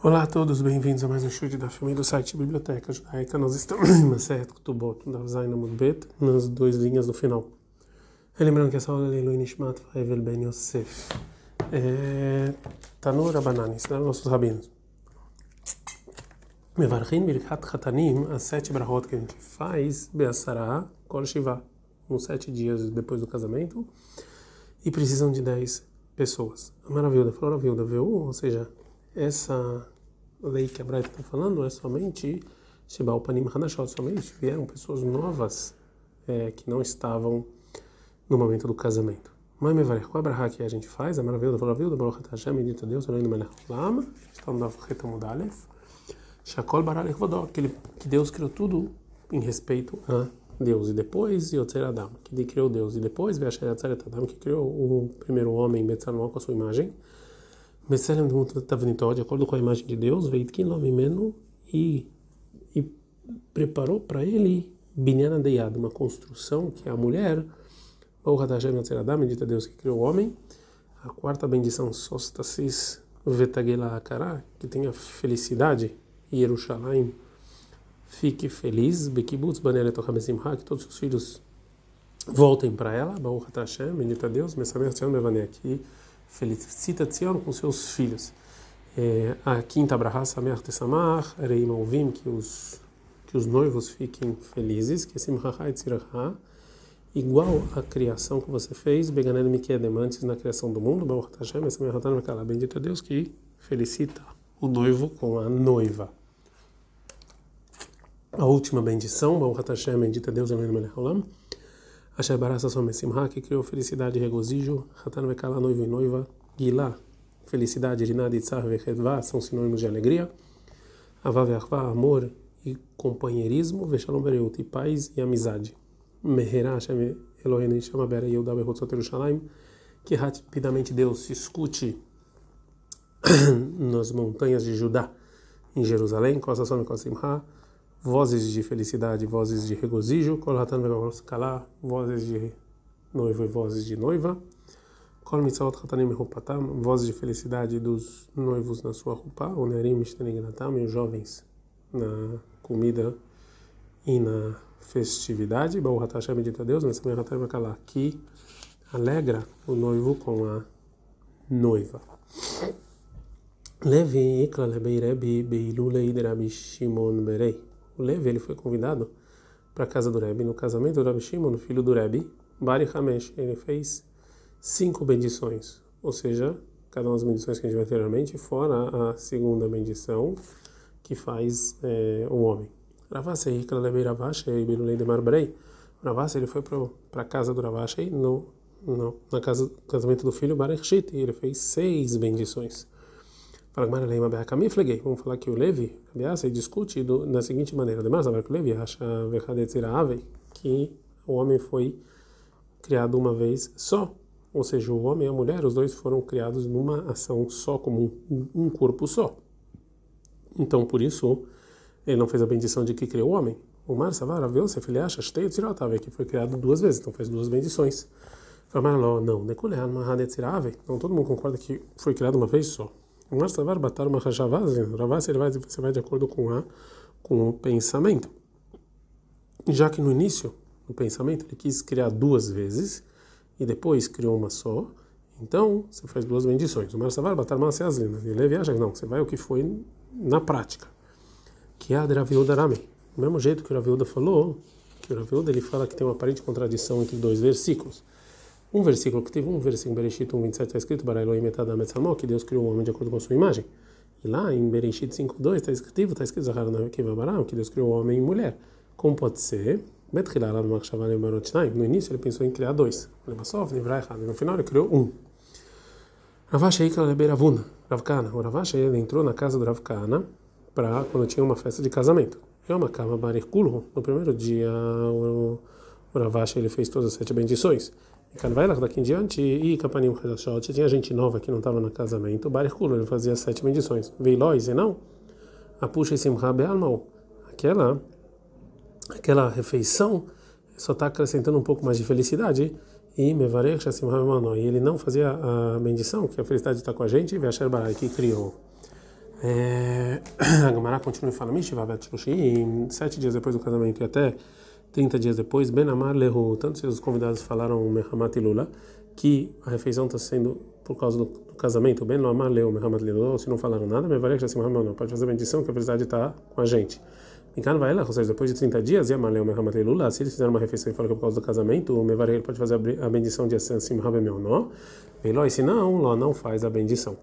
Olá a todos, bem-vindos a mais um chute da filme do site Biblioteca Judaica. Nós estamos em Masechet Ketubot, da Zaina Mudbet, nas duas linhas do final. Lembrando que essa aula é Leilu Nishmat Faivel Ben Yosef. Tanur Rabananis, nossos rabinos. Mevarchin Birkat Chatanim, as 7 brahot que a gente faz, Be'asara Kol Shiva, uns 7 dias depois do casamento, e precisam de 10 pessoas. A maravilha, falou a viúva, ou seja, essa lei que a Braita está falando é somente Sheba Upanim Hanashot, somente vieram pessoas novas que não estavam no momento do casamento. Mas Mevarech, qual a braha que a gente faz? A maravilha, falou a viúva, Baruch Hashem, bendito Deus, Eloheinu melech haolam, está no Daf Retamud Aleph, Shakol Bara Lechvodó, que Deus criou tudo em respeito a Deus, e depois Yotzer Adam, que criou Deus, e depois Ve'asher Yatzaret Adam, que criou o primeiro homem, Betzalel, com a sua imagem, Betzalel de acordo com a imagem de Deus, Veitkin Lo Mimenu, e preparou para ele Binyan Adeyad, uma construção que é a mulher, Baruch Hashem Yotzer Adam, bendito Deus que criou o homem. A quarta bendição, Sostasis Vetagela Akara, que tenha felicidade, e Yerushalayim fique feliz, Bekibutz Baneret Ochabesimha, que todos os filhos voltem para ela, Baruch Hashem, bendito Deus, Mesamech Tzion Bevaneh, que felicita Tzion com seus filhos. A quinta braha, Sameach Tesamach, Reim Alvim, que os noivos fiquem felizes, que Simcha Tziracha, igual a criação que você fez, Beganen Mikedem, antes na criação do mundo, Baruch Hashem, Mesamech Hatan Mekala, bendito Deus que felicita o noivo com a noiva. A última bendição, Baruch Hashem, bendito Deus, Eloheinu melech haolam, Asher bara sasson mesimcha, que criou felicidade e regozijo, Hatan Mekala, noivo e noiva, Gilá, felicidade, Rinad, Itzar, Vechedvá, são sinônimos de alegria, Avá ve'achvá, amor e companheirismo, Veshalom bereut, e paz e amizade. Meherá, Hashem Eloheinu chama Bera Yehuda Behotzot Yerushalayim, que rapidamente Deus se escute nas montanhas de Judá, em Jerusalém, Kosason e Kosimha, vozes de felicidade, vozes de regozijo, Kol Hatan Ve'Kala, vozes de noivo e vozes de noiva, Kol Mitzvot Hatanim Mehupatam, vozes de felicidade dos noivos na sua roupa, Onerim Mishtenigratam, e os jovens na comida e na festividade, Baruch Hashem, bendito Deus, Mesamech Hatan Mekala, que alegra o noivo com a noiva. Levi Ikla Lebei Rebi Beilulei de Rabi Shimon Berei. O Levi, ele foi convidado para a casa do Rebbe, no casamento do Rabi Shimon, filho do Rebbe, Bari Hamesh, ele fez 5 bendições, ou seja, cada uma das bendições que a gente vai anteriormente, fora a segunda bendição que faz o homem. Ravasei Ikla Lebei Ravashei Beilulei de Marbrei. Ravasei, ele foi para a casa do Ravashei, na casa do casamento do filho Bari Shit, e ele fez 6 bendições. Vamos falar que o Levi discute da seguinte maneira: ademais, o Levi acha que o homem foi criado uma vez só, ou seja, o homem e a mulher, os dois foram criados numa ação só, como um corpo só. Então, por isso, ele não fez a bendição de que criou o homem. O Mar Savar, ele acha que foi criado 2 vezes, então fez 2 bendições. Não, então todo mundo concorda que foi criado uma vez só. Mas você vai de acordo com o pensamento. Já que no início, no pensamento, ele quis criar 2 vezes e depois criou uma só, então você faz 2 bendições. O Marsavar batar massa aslina. Ele viaja, não, você vai o que foi na prática. Que é a Raviuda Rame. Do mesmo jeito que o Raviuda falou, que o Raviuda ele fala que tem uma aparente contradição entre 2 versículos. Um versículo que teve em Bereshit 1:27 está escrito Bara Elohim et Adam et Samo, que Deus criou o homem de acordo com a sua imagem. E lá em Bereshit 5:2 está escrito Zahar Nakev Baram, que Deus criou o homem e mulher. Como pode ser? No início ele pensou em criar 2. No final ele criou 1. Ravash Eikla Lebe Ravuna, Ravkana. O Ravash ele entrou na casa do Ravkana para quando tinha uma festa de casamento. Yom HaKama Barich Kulhu. No primeiro dia o Ravash ele fez todas as 7 bendições. E vai lá daqui em diante, e Kapanim Hadashot, tinha gente nova que não estava no casamento, Barich Kulhu, ele fazia 7 bendições. Veilóis, e não? A puxa Simcha Be'almau, aquela refeição só está acrescentando um pouco mais de felicidade, e Mevarech Simcha Be'almau, e ele não fazia a bendição, que a felicidade está com a gente, e Ve'asher Barai, que criou A Gemara continua e fala, Mishiva Bet Shloshim, 7 dias depois do casamento e até 30 dias depois, Ben Amar Lehu, tanto se os convidados falaram Mehamat Lula, que a refeição está sendo por causa do casamento, Ben Amar Lehu, Mehamat Lula, ou se não falaram nada, Mevarek Jassim Hamel, não, pode fazer a bendição que a felicidade está com a gente. Mikan vai ela, ou seja, depois de 30 dias, e Amar Lehu, Mehamat Lula, se eles fizeram uma refeição e falaram que é por causa do casamento, o Mevarek pode fazer a bendição de Jassim Hamel, não? Veló, e se não, Ló não faz a bendição.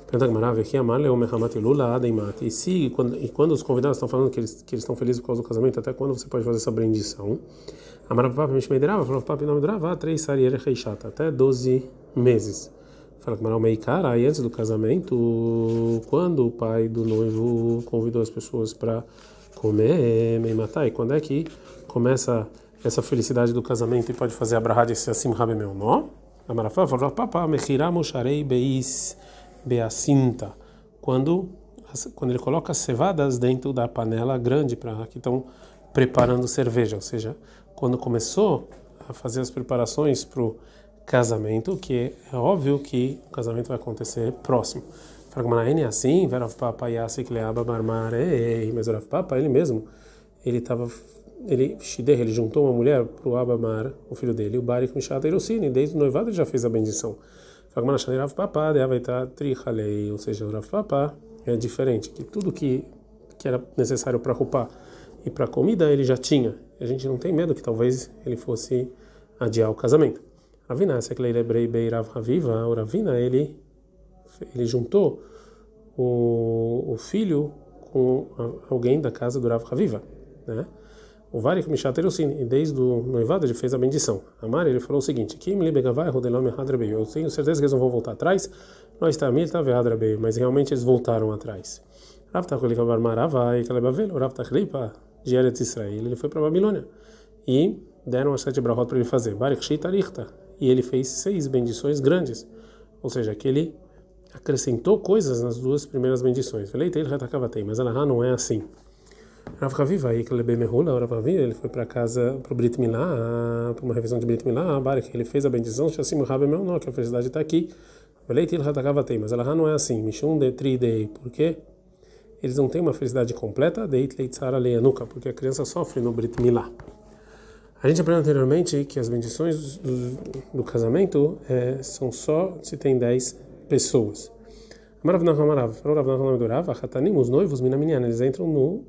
E se quando os convidados estão falando que eles estão felizes por causa do casamento, até quando você pode fazer essa bendição? Até 12 meses. Fala que Maral Meikara, aí antes do casamento, quando o pai do noivo convidou as pessoas para comer, Meimatai, quando é que começa essa felicidade do casamento e pode fazer a brahá de assim rabemeu, não? Amarafá falou, papá, mechiramo sharei beis beacinta, quando ele coloca as cevadas dentro da panela grande para que estão preparando cerveja, ou seja, quando começou a fazer as preparações para o casamento, que é óbvio que o casamento vai acontecer próximo. Fragmanaene assim, Verav Papa Yasik Leaba Marmare, mas Verav Papa ele mesmo, ele juntou uma mulher para o Abamar, o filho dele, o Barik Mishata Irosini, desde o noivado ele já fez a bendição. Rav Papa, ou seja, o Rav Papa é diferente, que tudo que era necessário para roupa e para comida ele já tinha. A gente não tem medo que talvez ele fosse adiar o casamento. Ravina, essa que ele hebrei bei Rav Haviva, o Ravina ele juntou o filho com alguém da casa do Rav Haviva, né? O Varik Mishat Erosin, e desde o noivado ele fez a bendição. Amar, ele falou o seguinte: eu tenho certeza que eles não vão voltar atrás. Nós estamos mas realmente eles voltaram atrás. O Rav Tachlipa de Eretz Israel, ele foi para a Babilônia e deram as 7 brahot para ele fazer. Barik Shitarichta, e ele fez 6 bendições grandes, ou seja, que ele acrescentou coisas nas 2 primeiras bendições. Mas ela não é assim. Rav Haviva, ele foi para casa, para o Brit Milá, para uma revisão de Brit Milá, ele fez a bendição, que a felicidade está aqui. Mas ela não é assim, porque eles não têm uma felicidade completa, porque a criança sofre no Brit Milá. A gente aprendeu anteriormente que as bendições do casamento são só se tem 10 pessoas. Os noivos, eles entram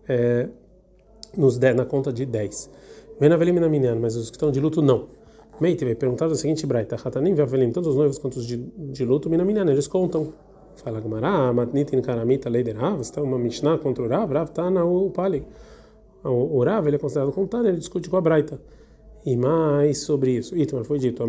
na conta de 10. Mas os que estão de luto não. Perguntaram a seguinte braita: tanto os noivos quanto os de luto, eles contam. Fala Gemara, matnitin karamita leiderav, está uma mishnah contra o Rav está na upali. O Rav ele é considerado contando, ele discute com a braita. E mais sobre isso, Itmar foi dito: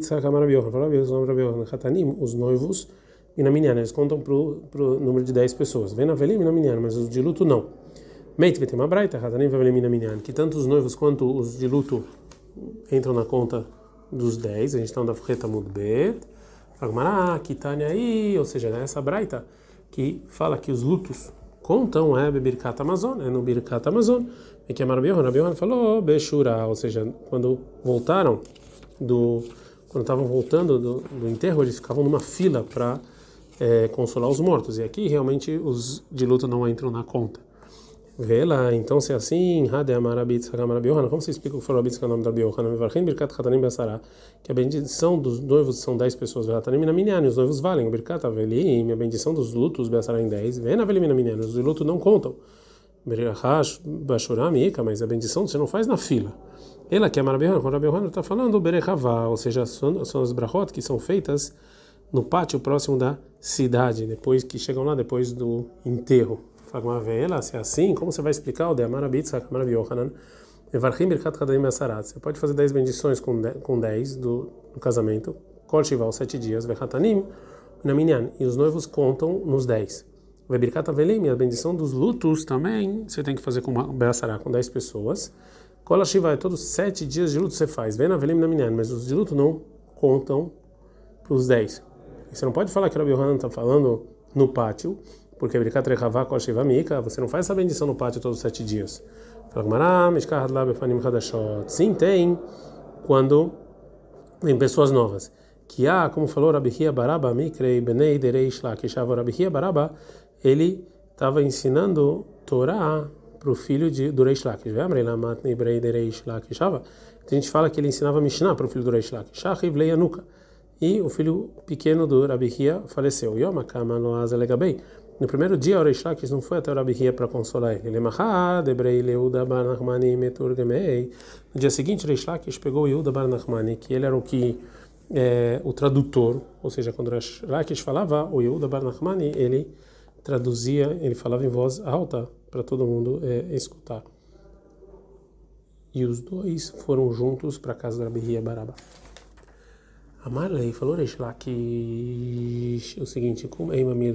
os noivos eles contam pro número de 10 pessoas. Mas os de luto não. Vai ter uma braita, que tanto os noivos quanto os de luto entram na conta dos 10. A gente está na Freta Mudbet. Kitania aí, ou seja, essa braita que fala que os lutos contam Birkat Amazon, no Birkat Amazon. E que a Rabi falou Beshura, ou seja, quando estavam voltando do enterro, eles ficavam numa fila para consolar os mortos. E aqui realmente os de luto não entram na conta. Vê lá, então se é assim, como você explica o que falou Rabbi Tzchak da Rabbi Yohanan, que a bendição dos noivos são 10 pessoas, os noivos valem, o Birkat Avelim, a bendição dos lutos em 10, os de luto não contam, mas a bendição você não faz na fila. Ela que é Rabbi Yohanan está falando Berechavá, ou seja, são as brachot que são feitas no pátio próximo da cidade, depois que chegam lá depois do enterro. Se é assim, como você vai explicar o de Amar Rabbi Tzchak, Amar Rabbi Yohanan? Você pode fazer 10 bendições com 10 do casamento, Kol Shiva, 7 dias, Vechatanim, Naminyan, e os noivos contam nos 10. Birkat Avelim, a bendição dos lutos também, você tem que fazer com Be'asará, com 10 pessoas. Kol Shiva, todos 7 dias de luto você faz, Ven Avelim Naminyan, mas os de luto não contam para os 10. Você não pode falar que o Rabbi Yohanan está falando no pátio, porque você não faz essa bendição no pátio todos os 7 dias. Sim, tem quando vem pessoas novas. Que como falou Rabi Hia Baraba, Mikrei Benei Derei Shlak, Rabi Hia Baraba ele estava ensinando Torá para o filho do Reish Lakish. A gente fala que ele ensinava Mishnah para o filho do Reish Lakish. E o filho pequeno do Rabi Hia faleceu. No primeiro dia, o Reish Lakish não foi até o Rabi Hia para consolar ele. No dia seguinte, o Reish Lakish pegou o Yehuda bar Nachmani, que ele era o tradutor, ou seja, quando o Reish Lakish falava, o Yehuda bar Nachmani, ele traduzia, ele falava em voz alta para todo mundo escutar. E os dois foram juntos para a casa do Rabi Hia Baraba. Amarlei falou Reish Lakish o seguinte: como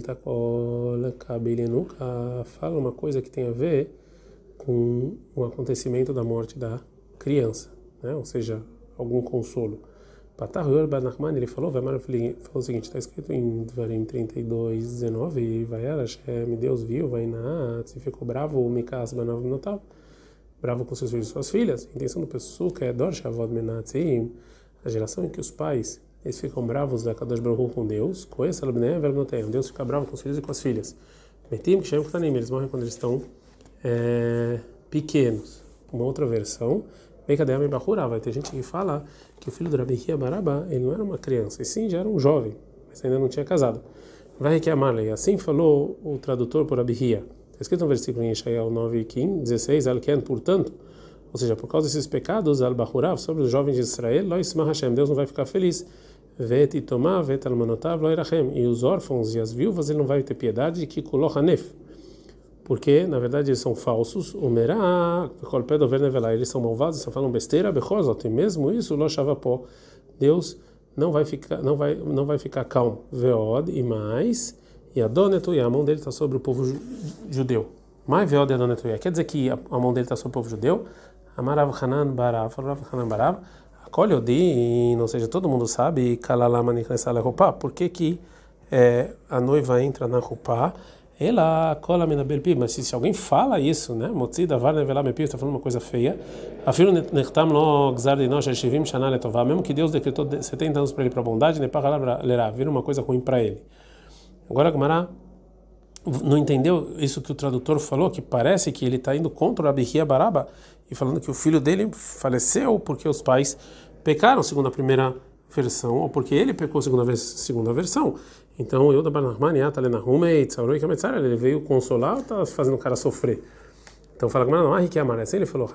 fala uma coisa que tem a ver com o acontecimento da morte da criança, né? Ou seja, algum consolo. Patar Yor bar Nachman, ele falou o seguinte: está escrito em Dvarim 32:19, vai Hashem, Deus viu, vai Naat, e ficou bravo, o Mikas Banav Notav, bravo com seus filhos e suas filhas. A intenção do Pessuca é Dor Shavod Menatzim, a geração em que os pais eles ficam bravos da Kadosh Baruch Hu com Deus, Deus fica bravo com os filhos e com as filhas. Metim que chamam Ktanim, eles morrem quando eles estão pequenos. Uma outra versão, vai ter gente que fala que o filho do Rabi Hia Baraba, ele não era uma criança, e sim já era um jovem, mas ainda não tinha casado. Vai que Amarlei, assim falou o tradutor por Rabi Hia. Está escrito no versículo em Yeshayahu 9:16, Alken, portanto, ou seja, por causa desses pecados, Al-Bahurav, sobre os jovens de Israel, Lo Yismah Hashem, Deus não vai ficar feliz. Vet Itomah, Vet Almanotav, Lo Irachem, e os órfãos e as viúvas, ele não vai ter piedade, que Koloch Hanef, porque, na verdade, eles são falsos, o Merah, eles são malvados, só falam besteira, Bechozot, e mesmo isso, Lo Shavapó, Deus não vai ficar calmo, Veod, e mais, e Adonetu, e a mão dele está sobre o povo judeu. Mais Veod e Adonetu, quer dizer que a mão dele está sobre o povo judeu? Amarav Hanan Barav, acolhe Odin, ou seja, todo mundo sabe, por que a noiva entra na roupa? Ela cola na belpi, mas se alguém fala isso, né? Motzida var nevelar mepi, está falando uma coisa feia. Afiro nechtam lo gzar de nós shivim shana letová, mesmo que Deus decretou 70 anos para ele para a bondade, ne pagar lerá, vira uma coisa ruim para ele. Agora a Gemara não entendeu isso que o tradutor falou, que parece que ele está indo contra o Rabi Hia Baraba e falando que o filho dele faleceu porque os pais pecaram, segundo a primeira versão, ou porque ele pecou, segundo a segunda versão. Então, eu da Barnahman, ele veio consolar ou está fazendo o cara sofrer? Então, fala que não, ele falou,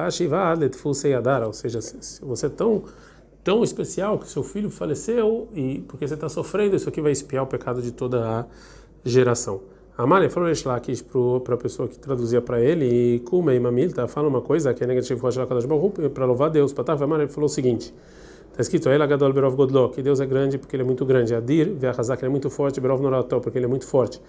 ou seja, se você é tão especial que seu filho faleceu e porque você está sofrendo, isso aqui vai expiar o pecado de toda a geração. Amália falou para a pessoa que traduzia para ele, e Kumei Mamil, fala uma coisa que é negativo para louvar a Deus. Amália falou o seguinte: está escrito, que Deus é grande porque ele é muito grande. Adir, que ele é muito forte, Berov Norató, porque ele é muito forte.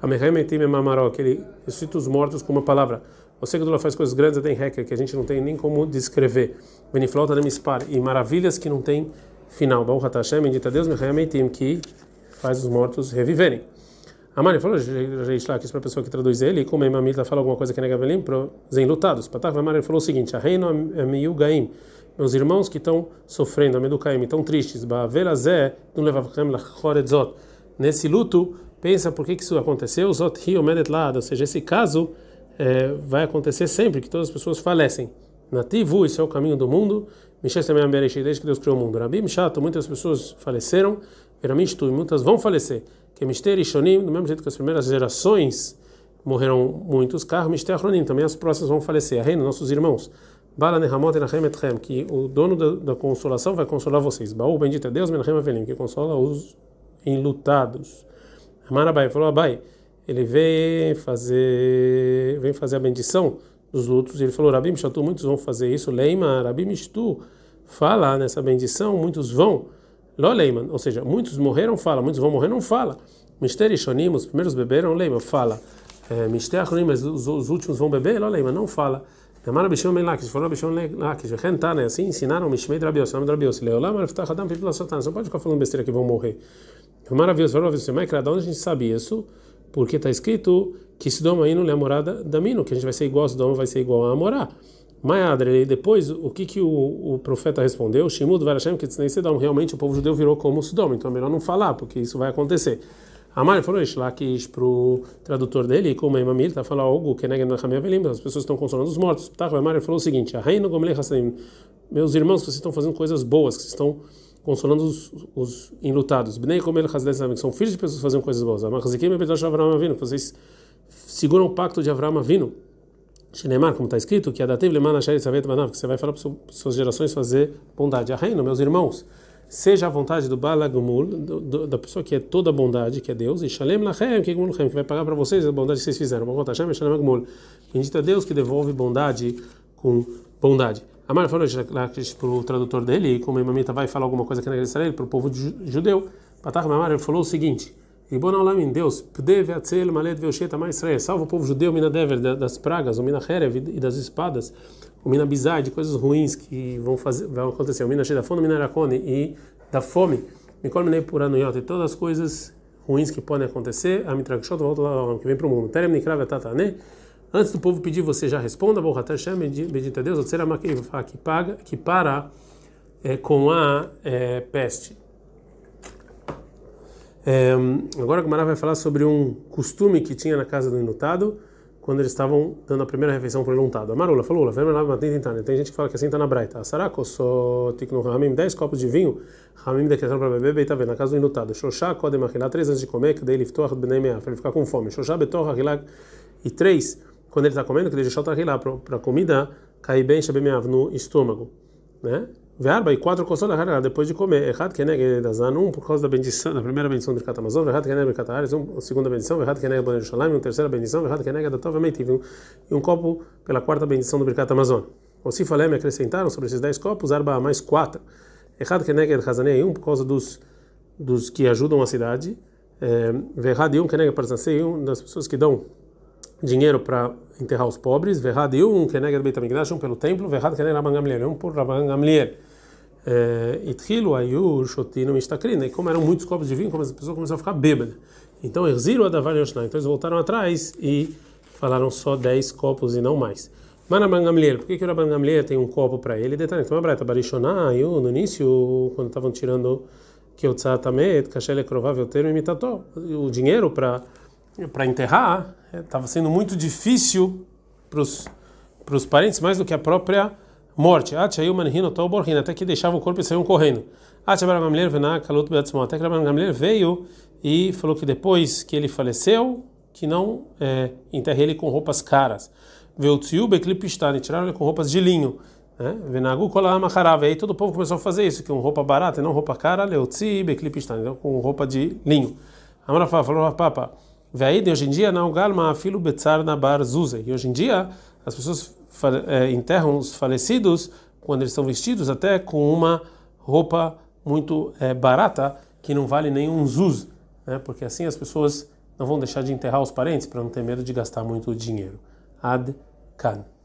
Que ele ressuscita os mortos com uma palavra. Você que faz coisas grandes, tem hacker, que a gente não tem nem como descrever. Beniflota Nemispar, e maravilhas que não tem final. Baruch Hashem, bendita Deus, que faz os mortos reviverem. Amari falou, Reish Lakish, para a pessoa que traduz ele, e como a Mamita fala alguma coisa que é negavelim, para os enlutados. Patar Amari falou o seguinte: a reino é meio gaim, meus irmãos que estão sofrendo, a meducaim, estão tristes, Baverazé, não levavchem lachoredzot. Nesse luto, pensa por que isso aconteceu, Zot hi omedet lad, ou seja, esse caso vai acontecer sempre, que todas as pessoas falecem. Nativu, isso é o caminho do mundo, Mishes também desde que Deus criou o mundo. Rabim Shato, muitas pessoas faleceram, Veramishtu, e muitas vão falecer. Que Mister e Shonim, do mesmo jeito que as primeiras gerações morreram muitos, Kar Mister Achronim, também as próximas vão falecer. A reina, nossos irmãos, Bala Nehamot Enachem Etchem, que o dono da consolação vai consolar vocês. Baú, bendito é Deus, Menachem Avelim, que consola os enlutados. Amarabai falou: Abai, ele vem fazer a bendição dos lutos, e ele falou: Rabim Shatu, muitos vão fazer isso. Leima, Rabim Shtu, fala nessa bendição, muitos vão. Lo Leiman, ou seja, muitos morreram, fala, muitos vão morrer, não fala. Mister e Shonim, os primeiros beberam, Leiman, fala. Mister Achronim, mas os últimos vão beber, Lo Leiman, não fala. Amara Bishon Ben Lakish, falou Bishon Lakish, né? Assim ensinaram Mishmei Drabios, nome Drabios. Leolam Araftach Adam Pipila Satan, não pode ficar falando besteira que vão morrer. Maravilhoso, falou Bishon Ben Lakish, onde a gente sabe isso? Porque está escrito que Sidom aí não é a morada da Mino, que a gente vai ser igual a Sidom, vai ser igual a Amorá. Maiadre, e depois, o que o profeta respondeu? Shimud Varashem, que Sidom, realmente o povo judeu virou como Sidom, então é melhor não falar, porque isso vai acontecer. Amar ele falou isso lá que para o tradutor dele, como é mamil, tá falando algo que nega na Hamia Velim, as pessoas estão consolando os mortos. Tá, Amar ele falou o seguinte: a reino Gomle Hassanim, meus irmãos, que vocês estão fazendo coisas boas, que vocês estão consolando os enlutados. Bnei Gomle Hassanim, que são filhos de pessoas que fazem coisas boas. Amar Hazikim Betosh Avraham Avinu, vocês seguram o pacto de Avraham Avinu. Shinemar, como está escrito, que Adativ Lemana Shayit Savet Banav, que você vai falar para suas gerações fazer bondade. A reino, meus irmãos, seja a vontade do Balagumul, da pessoa que é toda a bondade, que é Deus, e Shalem Lachem, que vai pagar para vocês a bondade que vocês fizeram. Bendito é Deus que devolve bondade com bondade. Amar falou para o tradutor dele, e como a Imamita vai falar alguma coisa que na Israel, para o povo judeu, Patach Mamar falou o seguinte: Ribon Olam em Deus, Pdev Atzel Malet Veoshet Amar Israel, salva o povo judeu, Mina Dever, das pragas, o Mina Herev e das espadas, o Mina Bizai, de coisas ruins que vão acontecer, o Mina Shedafon, o Mina Rakone e da fome, Mikol Minei Puranuyot, e todas as coisas ruins que podem acontecer, a Mitrakshot volta lá que vem para o mundo. Terem Nikrav Tatane, antes do povo pedir, você já responda, Baruch Atah Hashem, bendito é Deus, que para com a peste. Agora a Gemara vai falar sobre um costume que tinha na casa do enlutado quando eles estavam dando a primeira refeição para o enlutado. A Marula falou: tem gente que fala que assim está na Braita. Sarako só tiknu ramim 10 copos de vinho, ramim decretaram para beber, bem, tá vendo, na casa do enlutado. Shoshá kodem achilá 3 antes de comer, que daí ele liftoach bnei meah, para ele ficar com fome. Shoshá betor achilá e 3 quando ele está comendo, que ele deixou achilá para a comida cair bem shabemeav no estômago, né? Verba e 4 coçou da depois de comer. Errado que é da um por causa da bendição, da primeira bendição do Birkat Hamazon, errado que é Birkat Haaretz, a segunda bendição, errado que é Bonei Yerushalayim, a terceira bendição, errado que é da Tova Meitiv, e um copo pela quarta bendição do Birkat Hamazon. Ou se falei, me acrescentaram sobre esses 10 copos, arba mais 4. Errado que é Hazanei por causa dos que ajudam a cidade. Verrado e que é Parzansei, das pessoas que dão dinheiro para enterrar os pobres. Verrado e que é Beit HaMikdash, pelo templo. Verrado que é Rabban Gamliel, por Rabban Gamliel. Itchilu ayu shotinu mishtakrin, e como eram muitos copos de vinho, como as pessoas começaram a ficar bêbadas. Então erziru adavar yoshna, então eles voltaram atrás e falaram só 10 copos e não mais. Mas Rabban Gamliel, por que o Rabban Gamliel tem um copo para ele? Detalhe, então a Braita Barishona, no início, quando estavam tirando que o tzatamet, kashele provável termo imitator, o dinheiro para enterrar estava sendo muito difícil para os parentes, mais do que a própria morte. Até que deixava o corpo e saíam correndo. Até que Rabban Gamliel veio e falou que depois que ele faleceu, que não enterre ele com roupas caras. Tiraram ele com roupas de linho. E aí todo o povo começou a fazer isso, com roupa barata e não roupa cara, então com roupa de linho. Amarafa falou: Papa, hoje em dia não galma filo betzar na bar zuze. E hoje em dia as pessoas enterram os falecidos quando eles são vestidos até com uma roupa muito barata que não vale nenhum zuz, né? Porque assim as pessoas não vão deixar de enterrar os parentes para não ter medo de gastar muito dinheiro. Ad kan.